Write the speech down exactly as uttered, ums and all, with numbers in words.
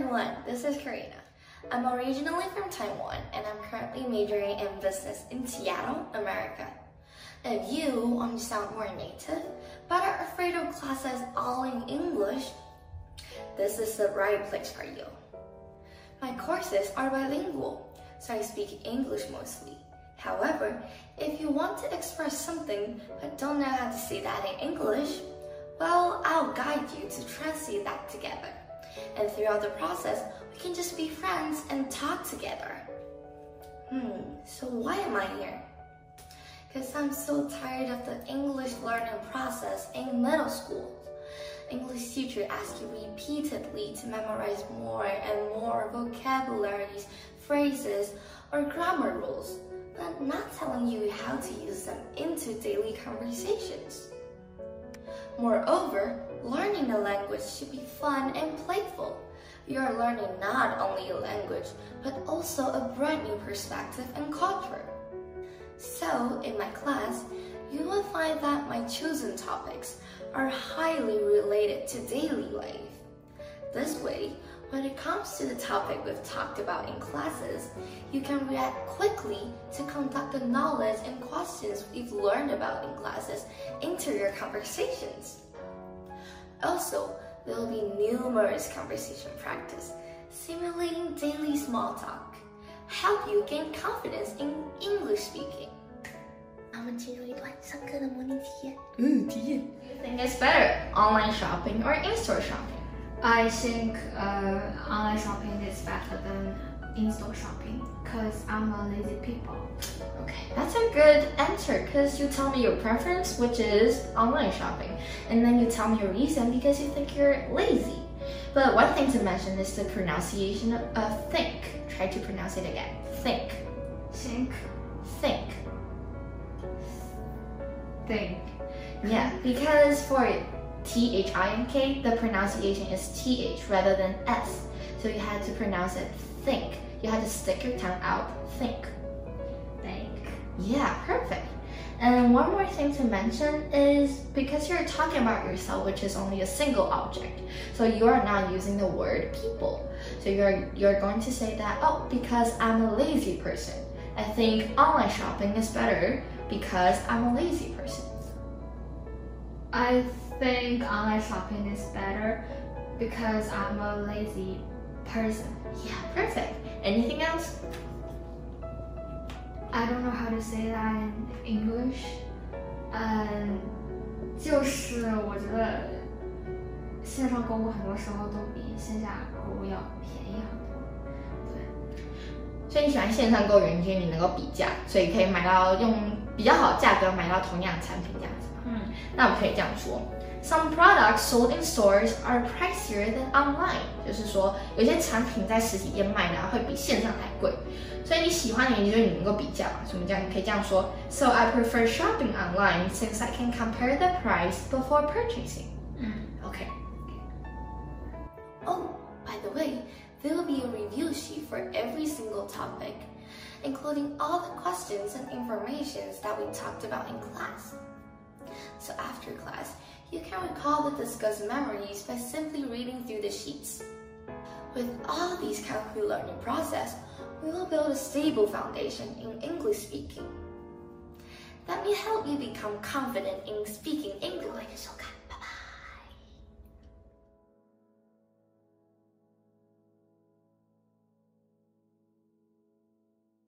everyone, this is Karina. I'm originally from Taiwan and I'm currently majoring in business in Seattle, America. If you want to sound more native, but are afraid of classes all in English, this is the right place for you. My courses are bilingual, so I speak English mostly. However, if you want to express something but don't know how to say that in English, well, I'll guide you to translate that together. And throughout the process, we can just be friends and talk together. Hmm, so why am I here? Because I'm so tired of the English learning process in middle school. English teacher asks you repeatedly to memorize more and more vocabularies, phrases, or grammar rules, but not telling you how to use them into daily conversations. Moreover, learning a language should be fun and playful. You are learning not only a language, but also a brand new perspective and culture. So, in my class, you will find that my chosen topics are highly related to daily life. This way, when it comes to the topic we've talked about in classes, you can react quickly to conduct the knowledge and questions we've learned about in classes into your conversations. Also, there will be numerous conversation practice, simulating daily small talk, help you gain confidence in English speaking. 我们进入一段上课的模拟体验。 嗯，体验。 Do you think it's better, online shopping or in-store shopping? I think uh, online shopping is better than in-store shopping because I'm a lazy people. Okay, that's a good answer because you tell me your preference, which is online shopping, and then you tell me your reason because you think you're lazy. But one thing to mention is the pronunciation of, of think. Try to pronounce it again. Think. Think. Think. Think. Yeah, because for T H I N K, the pronunciation is T H rather than S. So you had to pronounce it think. You had to stick your tongue out. Think. Think. Yeah, perfect. And one more thing to mention is because you're talking about yourself, which is only a single object, so you are not using the word people. So you're you're going to say that, oh, because I'm a lazy person. I think online shopping is better because I'm a lazy person. I think online shopping is better because I'm a lazy person. Yeah, perfect. Anything else? I don't know how to say that in English. 嗯，就是我觉得线上购物很多时候都比线下购物要便宜很多。对。 所以你喜欢线上购物，因为你能够比价，所以可以买到用比较好的价格买到同样的产品这样子。嗯，那我们可以这样说。Some products sold in stores are pricier than online， 就是说有些产品在实体店卖的会比线上还贵，所以你喜欢的原因就是你能够比价嘛，所以我们这样可以这样说 ：So I prefer shopping online since I can compare the price before purchasing. 嗯 ，OK. Oh, by the way, there will be a review sheet for every single topic, including all the questions and informations that we talked about in class. So after class, you can recall the discussed memories by simply reading through the sheets. With all these concrete learning process, we will build a stable foundation in English speaking. That may help you become confident in speaking English.